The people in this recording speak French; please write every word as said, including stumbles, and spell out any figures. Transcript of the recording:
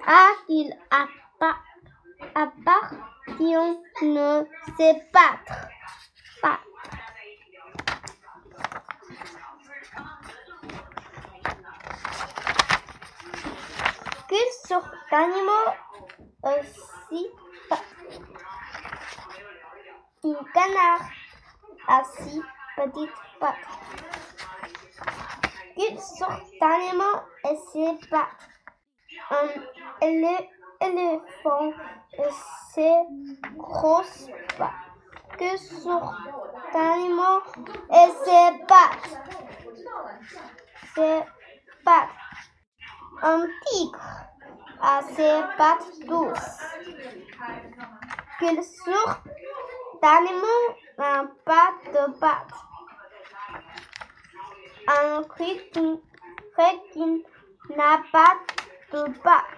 à qui appartient ne sait battre. Pas. Quelle sorte d'animaux aussi pas? Un canard a six petites pattes. Quelle sorte d'animaux a ses pattes? Un éléphant a ses grosses pattes. Quelle sorte d'animaux a ses pattes? Ses pattes. Un tigre a ses pattes douces. Quelle sorte d'animaux n'a pas de pattes? Un requin n'a pas de pattes.